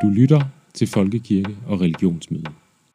Du lytter til Folkekirke og Religionsmøde.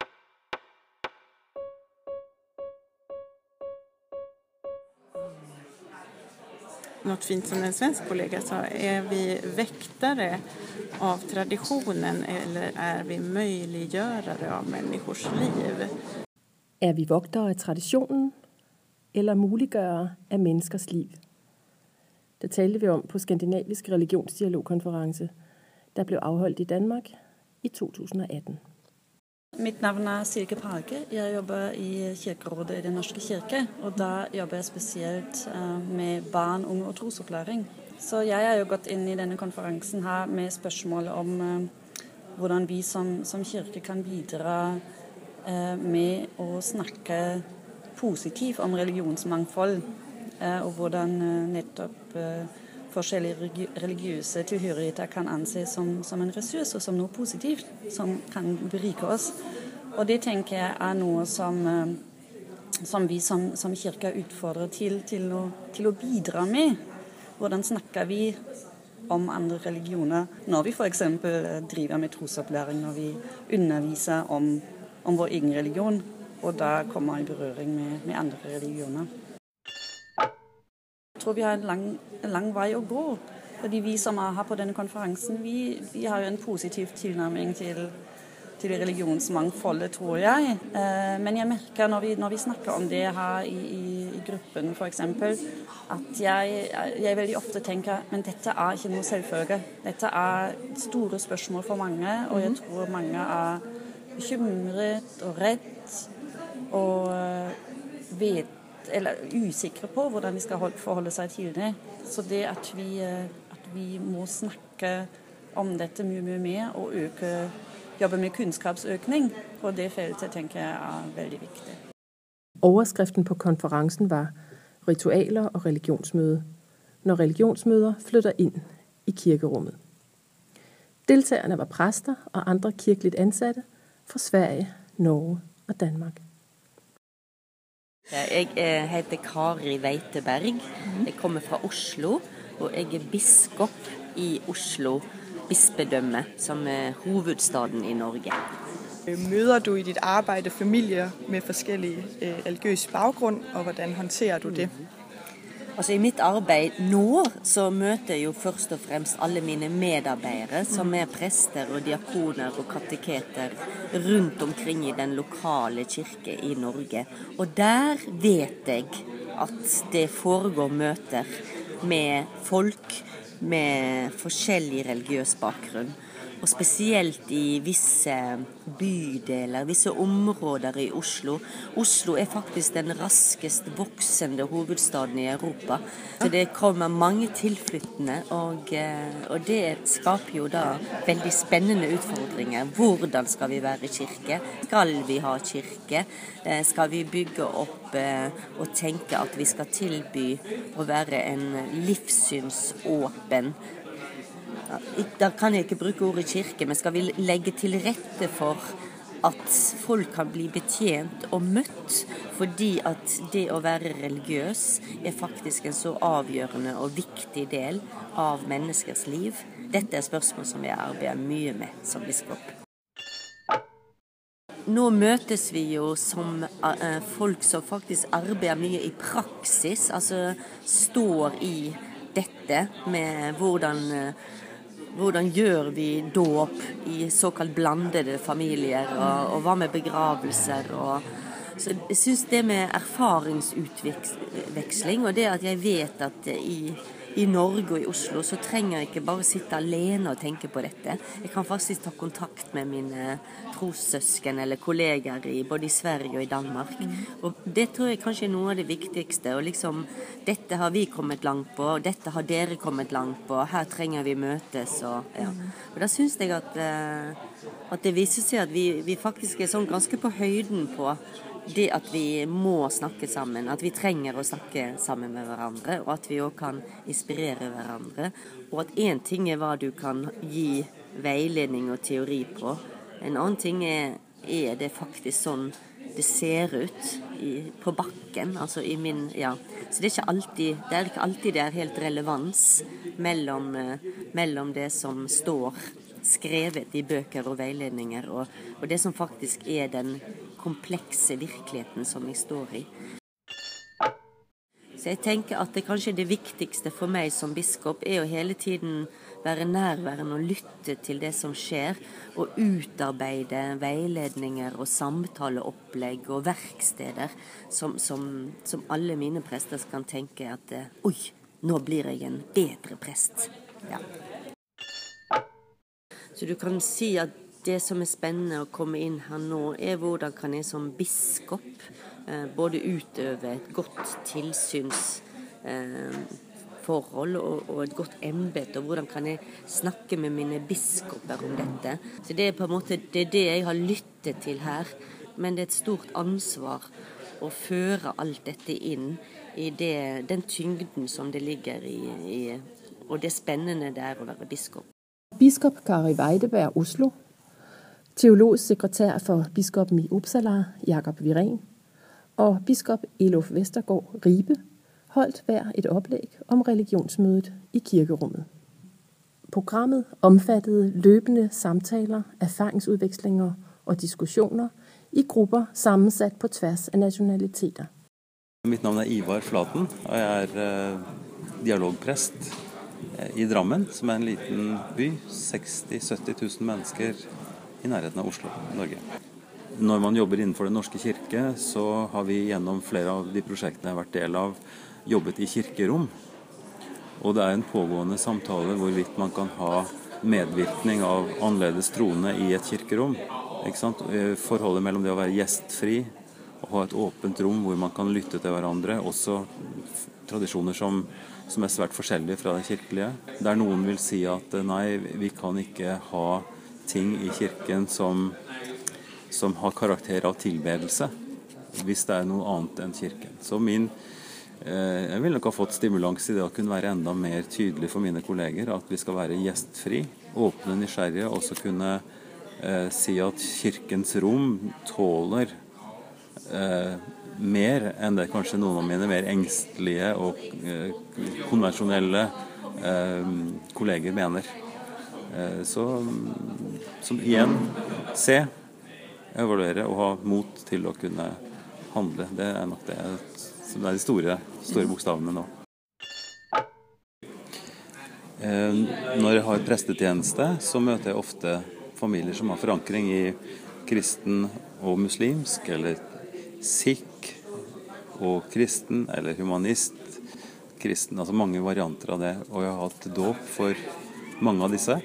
Något fint som en svensk kollega sa, är vi väktare av traditionen eller är vi möjliggörare av människors liv? Er vi vogtere af traditionen eller muliggørere af menneskers liv? Det talte vi om på Skandinavisk Religionsdialogkonference, der blev afholdt i Danmark i 2018. Mitt navn er Silke Page. Jeg jobber i Kirkerådet i Den Norske Kirke, og da jobber jeg spesielt med barn, unge og trosopplæring. Så jeg er jo gått inn i denne konferansen her med spørsmål om hvordan vi som kirke kan bidra med å snakke positivt om religionsmangfold, og hvordan nettopp forskjellige religiøse tilhørigheter kan anses som en ressurs og som noe positivt som kan berike oss. Og det tenker jeg er noe som vi som kirke utfordrer til å bidra med. Hvordan snakker vi om andre religioner når vi for eksempel driver med trosopplæring, når vi underviser om vår egen religion, og da kommer i berøring med andre religioner. Jeg tror vi har en lang vei å gå, fordi vi som er her på denne konferansen, vi har jo en positiv tilnærming til religionsmangfoldet, tror jeg. Men jeg merker når vi snakker om det her i gruppen for eksempel, at jeg veldig ofte tenker, men dette er ikke noe selvfølge. Dette er store spørsmål for mange, og jeg tror mange er bekymret og redd og eller usikre på hvordan de skal forholde seg til det. Så det at vi må snakke om dette mye mer og jobbe med kunnskapsøkning på det feltet, tenker jeg er veldig viktig. Overskriften på konferencen var Ritualer og religionsmøde, når religionsmøder flytter ind i kirkerummet. Deltagerne var præster og andre kirkeligt ansatte fra Sverige, Norge og Danmark. Jeg heter Kari Veiteberg. Jeg kommer fra Oslo, og jeg er biskop i Oslo bispedømme, som er hovedstaden i Norge. Møder du i dit arbejde familier med forskellige religiøse baggrund, og hvordan håndterer du det? Altså i mitt arbeid nå så møter jeg jo først og fremst alle mine medarbeidere som er prester og diakoner og kateketer rundt omkring i den lokale kirke i Norge. Og der vet jeg at det foregår møter med folk med forskjellig religiøs bakgrunn. Og spesielt i visse bydeler, visse områder i Oslo. Oslo er faktisk den raskest voksende hovedstaden i Europa. Så det kommer mange tilflyttende, og det skaper jo da veldig spennende utfordringer. Hvordan skal vi være kirke? Skal vi ha kirke? Skal vi bygge opp og tenke at vi skal tilby å være en livssynsåpen? Da kan jeg ikke bruke ordet kirke, men skal vi legge til rette for at folk kan bli betjent og møtt, fordi at det å være religiøs er faktisk en så avgjørende og viktig del av menneskers liv. Dette er spørsmål som jeg arbeider mye med som biskop. Nå møtes vi jo som folk som faktisk arbeider mye i praksis, altså står i dette med hvordan gjør vi dåp i såkalt blandede familier, og hva med begravelser. Så jeg synes det med erfaringsutveksling, og det at jeg vet at i Norge og i Oslo så trenger jeg ikke bare sitte alene og tenke på dette. Jeg kan faktisk ta kontakt med mine trossøsken eller kolleger både i Sverige og i Danmark. Og det tror jeg kanskje er noe av det viktigste. Og liksom, dette har vi kommet langt på, og dette har dere kommet langt på, her trenger vi møtes. Og da synes jeg at det viser seg at vi faktisk er sånn ganske på høyden på det at vi må snakke sammen, at vi trenger å snakke sammen med hverandre, og at vi også kan inspirere hverandre, og at en ting er hva du kan gi veiledning og teori på. En annen ting er det faktisk sånn det ser ut på bakken, altså i min, Så det er ikke alltid det er helt relevans mellom det som står skrevet i bøker og veiledninger, og det som faktisk er den komplekse virkeligheten som jeg står i. Så jeg tenker at det kanskje det viktigste for meg som biskop er å hele tiden være nærværende og lytte til det som skjer, og utarbeide veiledninger og samtaleopplegg og verksteder som alle mine prester kan tenke at oi, nå blir jeg en bedre prest. Ja. Så du kan si at det som er spennende å komme inn her nå, er hvordan kan jeg som biskop både utøve et godt tilsynsforhold og et godt embete, og hvordan kan jeg snakke med mine biskoper om dette. Så det er på en måte det jeg har lyttet til her, men det er et stort ansvar å føre alt dette inn i den tyngden som det ligger i, og det spennende det er å være biskop. Biskop Kari Weideberg, Oslo. Teologisk sekretær for biskopen i Uppsala, Jakob Viren, og biskop Elof Vestergaard Ribe holdt hver et oplæg om religionsmødet i kirkerummet. Programmet omfattede løbende samtaler, erfaringsudvekslinger og diskussioner i grupper sammensat på tvers av nationaliteter. Mitt navn er Ivar Flaten, og jeg er dialogprest i Drammen, som er en liten by, 60-70 000 mennesker i nærheten av Oslo, Norge. Når man jobber innenfor Den norske kirke, så har vi gjennom flere av de prosjektene jeg har vært del av, jobbet i kirkerom. Og det er en pågående samtale hvorvidt man kan ha medvirkning av annerledes troende i et kirkerom. Ikke sant? Forholdet mellom det å være gjestfri og ha et åpent rom hvor man kan lytte til hverandre, også tradisjoner som er svært forskjellige fra det kirkelige. Der noen vil si at nei, vi kan ikke ha ting i kirken som har karakter av tilbedelse, hvis det er noe annet enn kirken. Så jeg vil nok ha fått stimulans i det å kunne være enda mer tydelig for mine kolleger, at vi skal være gjestfri, åpne, nysgjerrige, og også kunne si at kirkens rom tåler mer enn det kanskje noen av mine mer engstelige og konvensjonelle kolleger mener. Som igjen se, evaluere og ha mot til å kunne handle. Det er nok det som er de store bokstavene nå. Når jeg har prestetjeneste, så møter jeg ofte familier som har forankring i kristen og muslimsk, eller sikh og kristen, eller humanist, kristen, altså mange varianter av det. Og jeg har hatt dåp for mange av disse.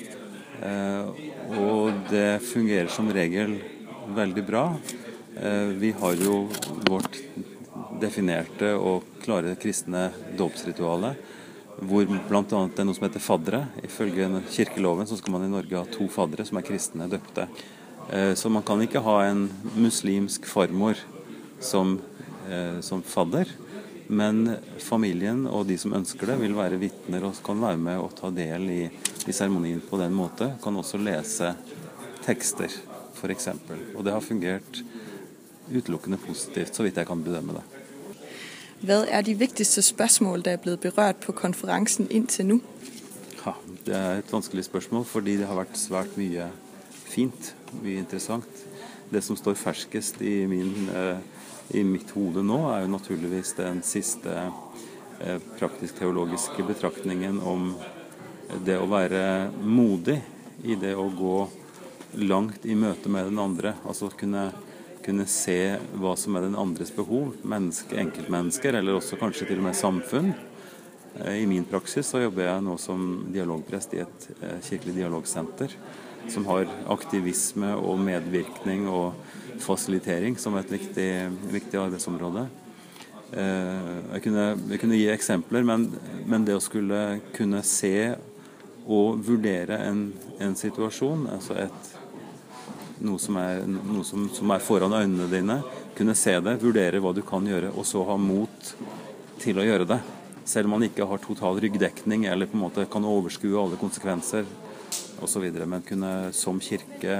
Og det fungerer som regel veldig bra. Vi har jo vårt definerte og klare kristne dåpsritualet, hvor blant annet det er noe som heter faddere. Ifølge kirkeloven så skal man i Norge ha 2 faddere som er kristne døpte. Så man kan ikke ha en muslimsk farmor som fadder, men familien og de som ønsker det vil være vitner og kan være med og ta del i seremonien på den måte. Kan også lese tekster, for eksempel. Og det har fungert utelukkende positivt, så vidt jeg kan bedømme det. Hvad er de vigtigste spørsmål, der er blevet berørt på konferensen indtil nu? Ja, det er et vanskelig spørsmål, fordi det har vært svært mye fint, mye interessant. Det som står ferskest i mitt hode nå, er jo naturligvis den siste praktisk-teologiske betraktningen om det å være modig i det å gå langt i møte med den andre, altså kunne se hva som er den andres behov, enkeltmennesker, eller også kanskje til og med samfunn. I min praksis så jobber jeg nå som dialogprest i et kirkelig dialogsenter, som har aktivisme og medvirkning og fasilitering som et viktig arbeidsområde. Jeg kunne gi eksempler, men det å skulle kunne se og vurdere en situasjon, altså noe som er foran øynene dine, kunne se det, vurdere hva du kan gjøre, og så ha mot til å gjøre det. Selv om man ikke har total ryggdekning, eller på en måte kan overskue alle konsekvenser, og så videre, men kunne som kirke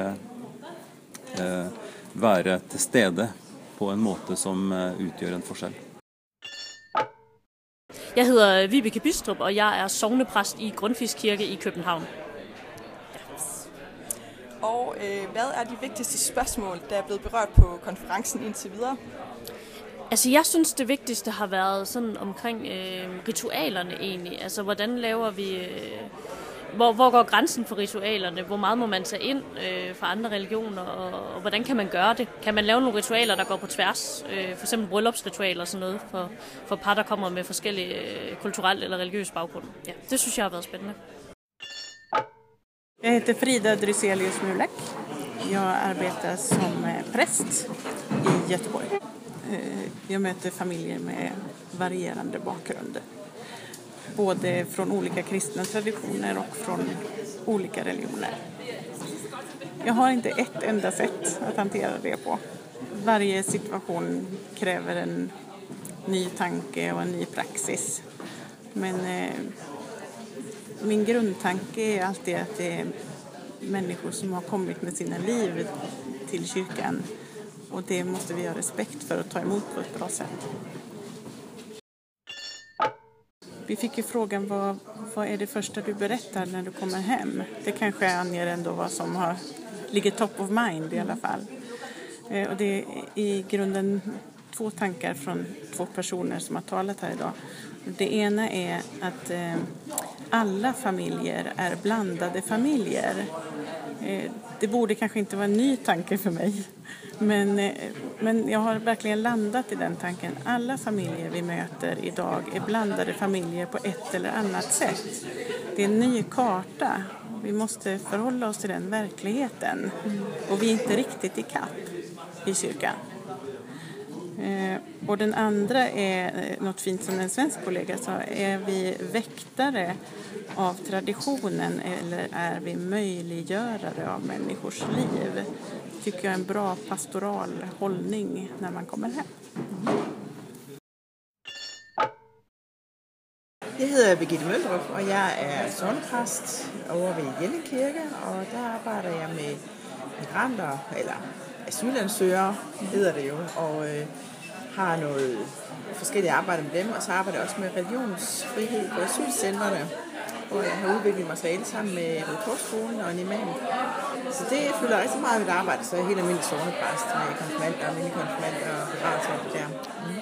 være til stede på en måte som utgjør en forskjell. Jeg hedder Vibeke Bistrup, og jeg er sognepræst i Grundtvigs Kirke i København. Og hvad er de vigtigste spørgsmål, der er blevet berørt på konferencen indtil videre? Altså jeg synes det vigtigste har været sådan omkring ritualerne egentlig. Altså hvordan laver vi... Hvor går grænsen for ritualerne? Hvor meget må man tage ind fra andre religioner, og hvordan kan man gøre det? Kan man lave nogle ritualer, der går på tværs? For eksempel bryllupsritualer og sådan noget for par, der kommer med forskellige kulturelle eller religiøse baggrunde. Ja, det synes jeg har været spændende. Jag heter Frida Dryselius Mulek. Jag arbetar som präst i Göteborg. Jag möter familjer med varierande bakgrunder. Både från olika kristna traditioner och från olika religioner. Jag har inte ett enda sätt att hantera det på. Varje situation kräver en ny tanke och en ny praxis. Men min grundtanke är alltid att det är människor som har kommit med sina liv till kyrkan. Och det måste vi ha respekt för att ta emot på ett bra sätt. Vi fick ju frågan vad är det första du berättar när du kommer hem. Det kanske anger ändå vad som ligger top of mind i alla fall. Och det är i grunden 2 tankar från 2 personer som har talat här idag. Det ena är att alla familjer är blandade familjer. Det borde kanske inte vara en ny tanke för mig. Men jag har verkligen landat i den tanken. Alla familjer vi möter idag är blandade familjer på ett eller annat sätt. Det är en ny karta. Vi måste förhålla oss till den verkligheten. Och vi är inte riktigt i kapp i kyrkan. Och den andra är något fint som en svensk kollega sa. Är vi väktare av traditionen eller är vi möjliggörare av människors liv? Tycker jag är en bra pastoral hållning när man kommer hem. Jeg hedder Birgitte Møldrup, og jeg er sognepræst over ved Jelling Kirke, og der arbejder jeg med migranter, eller asylansøgere hedder det jo, og har noget forskellige arbejde med dem, og så arbejder jeg også med religionsfrihed på asylcentrene, hvor jeg har udviklet materiale sammen med Røde Korsskolen og en imam. Så det fylder rigtig meget af mit arbejde, så jeg er helt almindelig sognepræst med konfirmander og minikonfirmander og begravelser der.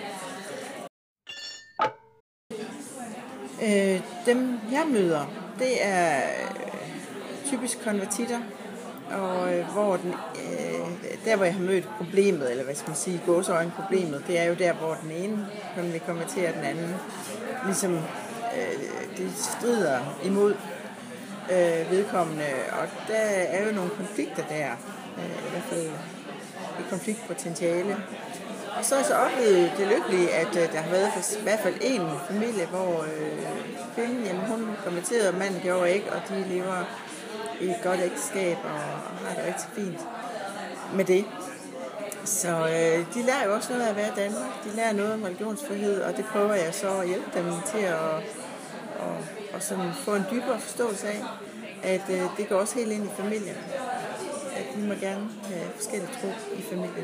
Dem jeg møder, det er typisk konvertitter, og der hvor jeg har mødt problemet, eller hvad skal man sige, gåseøjne problemet, det er jo der hvor den ene vil konvertere den anden, ligesom de strider imod vedkommende, og der er jo nogle konflikter der, i hvert fald et konfliktpotentiale. Og så har jeg så oplevet det lykkelige, at der har været i hvert fald en familie, hvor kvinden, jamen, hun konverterede, og manden gjorde ikke, og de lever i et godt ægteskab og har det rigtig fint med det. Så de lærer jo også noget af at være i Danmark. De lærer noget om religionsfrihed, og det prøver jeg så at hjælpe dem til at sådan få en dybere forståelse af, at det går også helt ind i familien. At de må gerne have forskellige tro i familien.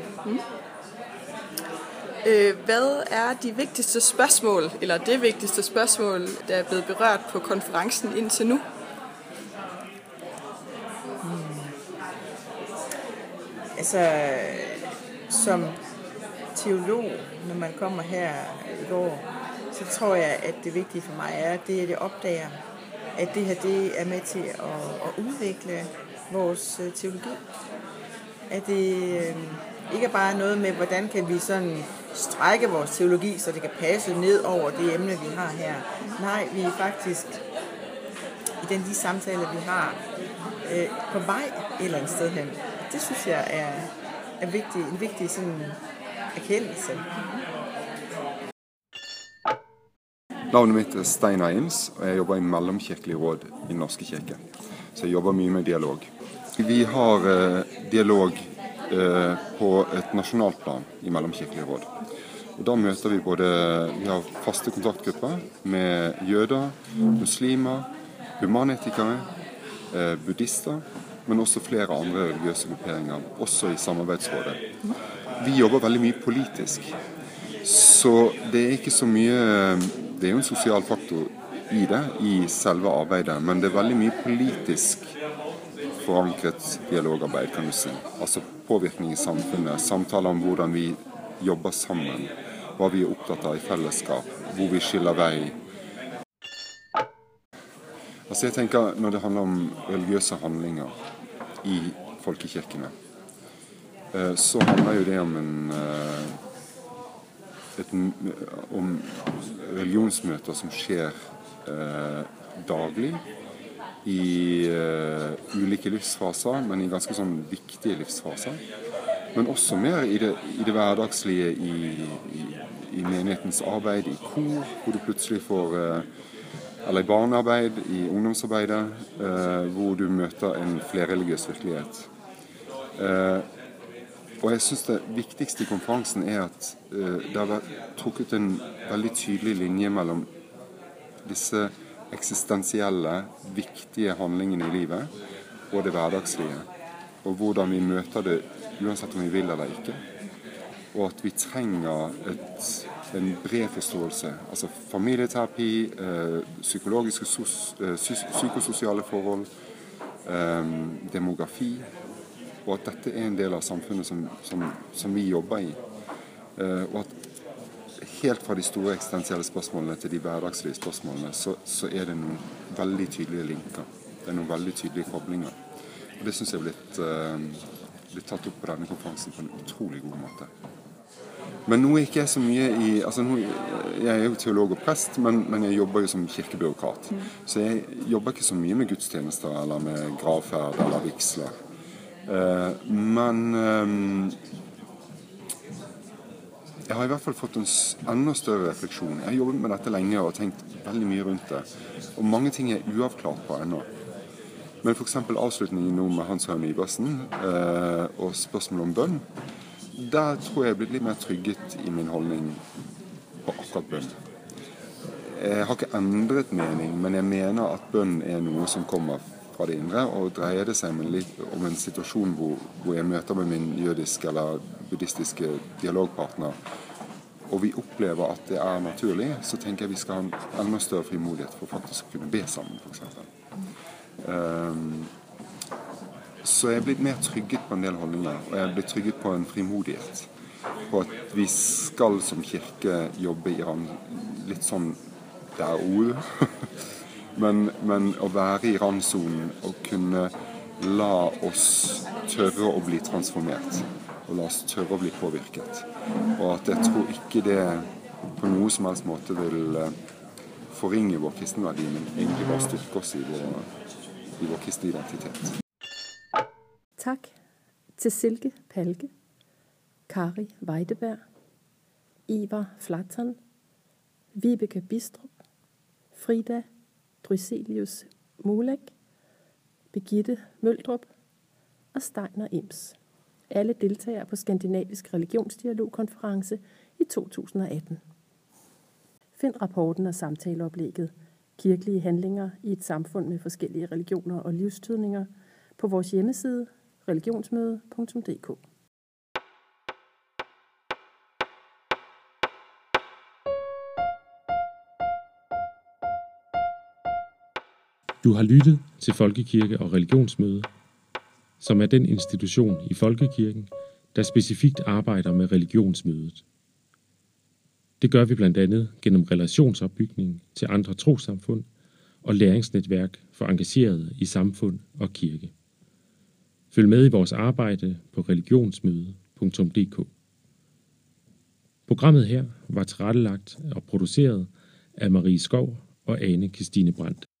Hvad er de vigtigste spørgsmål, eller det vigtigste spørgsmål, der er blevet berørt på konferencen indtil nu? Altså, som teolog, når man kommer her i går, så tror jeg, at det vigtige for mig er, at det opdager, at det her det er med til at udvikle vores teologi. At det ikke bare er noget med, hvordan kan vi sådan strække vores teologi, så det kan passe ned over det emne, vi har her. Nej, vi er faktisk i de samtaler, vi har, på vej et eller andet sted hen. Det synes jeg er en vigtig sådan erkendelse. Navnet mitt er Stein Eims, og jeg jobber i Mellomkirkelig råd i Den norske kirke. Så jeg jobber mye med dialog. Vi har dialog på et nasjonalt plan i Mellomkirkelig råd. Og da møter vi har faste kontaktgrupper med jøder, muslimer, humanetikere, buddhister, men også flere andre religiøse grupperinger, også i samarbeidsrådet. Vi jobber veldig mye politisk, så det er ikke så mye, det er jo en sosial faktor i det, i selve arbeidet, men det er veldig mye politisk forankret dialogarbeid, kan du si. Altså påvirkning i samfunnet, samtaler om hvordan vi jobber sammen, hva vi er opptatt av i fellesskap, hvor vi skiller vei. Altså jeg tenker, når det handler om religiøse handlinger i folkekirkene, så handler jo det om religionsmøter som skjer daglig i ulike livsfaser, men i ganske sånn viktige livsfaser. Men også mer i det hverdagslige i menighetens arbeid, i kor, hvor du plutselig får, eller i barnearbeid, i ungdomsarbeidet, hvor du møter en flerreligiøs virkelighet. Og jeg synes det viktigste i konferansen er at det har vært trukket en veldig tydelig linje mellom disse eksistensielle, viktige handlingene i livet og det hverdagslige, og hvordan vi møter det uansett om vi vil eller ikke, og at vi trenger en bred forståelse, altså familieterapi, psykologiske, psykososiale forhold, demografi, og at dette er en del av samfunnet som vi jobber i, og at helt fra de store eksistensielle spørsmålene til de hverdagslige spørsmålene, så er det noen veldig tydelige linker. Det er noen veldig tydelige koblinger. Og det synes jeg er blitt tatt opp på denne konferansen på en utrolig god måte. Men nå er ikke jeg så mye jeg er jo teolog og prest, men jeg jobber jo som kirkebyråkrat. Så jeg jobber ikke så mye med gudstjenester eller med gravferd eller vigsler. Men jeg har i hvert fall fått en enda større refleksjon. Jeg har jobbet med dette lenge og tenkt veldig mye rundt det. Og mange ting er uavklart på ennå. Men for eksempel avslutningen nå med Hans Høyem Iversen og spørsmål om bønn, der tror jeg blitt litt mer trygget i min holdning på akkurat bønn. Jeg har ikke endret mening, men jeg mener at bønn er noe som kommer fra det indre, og dreier det seg om en situasjon hvor jeg møter med min jødiske eller buddhistiske dialogpartner, og vi opplever at det er naturlig, så tenker jeg vi skal ha en enda større frimodighet for faktisk å kunne be sammen, for eksempel. Så jeg er blitt mer trygget på en del holdninger, og jeg er blitt trygget på en frimodighet, på at vi skal som kirke jobbe i litt sånn der ord, men å være i randsonen og kunne la oss tørre å bli transformert, og la oss tørre å bli påvirket. Og at jeg tror ikke det på noe som helst måte vil forringe vår kristenverdi, men egentlig bare styrke oss i vår kristne identitet. Tak til Silke Palke, Kari Weideberg, Ivar Flatton, Vibeke Bistrup, Frida Dryselius Mulek, Birgitte Møldrup og Steiner Ims. Alle deltagere på Skandinavisk Religionsdialogkonference i 2018. Find rapporten og samtaleoplægget Kirkelige handlinger i et samfund med forskellige religioner og livstydninger på vores hjemmeside religionsmøde.dk. Du har lyttet til Folkekirke og Religionsmøde, som er den institution i Folkekirken, der specifikt arbejder med religionsmødet. Det gør vi blandt andet gennem relationsopbygning til andre trossamfund og læringsnetværk for engagerede i samfund og kirke. Følg med i vores arbejde på religionsmøde.dk. Programmet her var tilrettelagt og produceret af Marie Skov og Ane Kristine Brandt.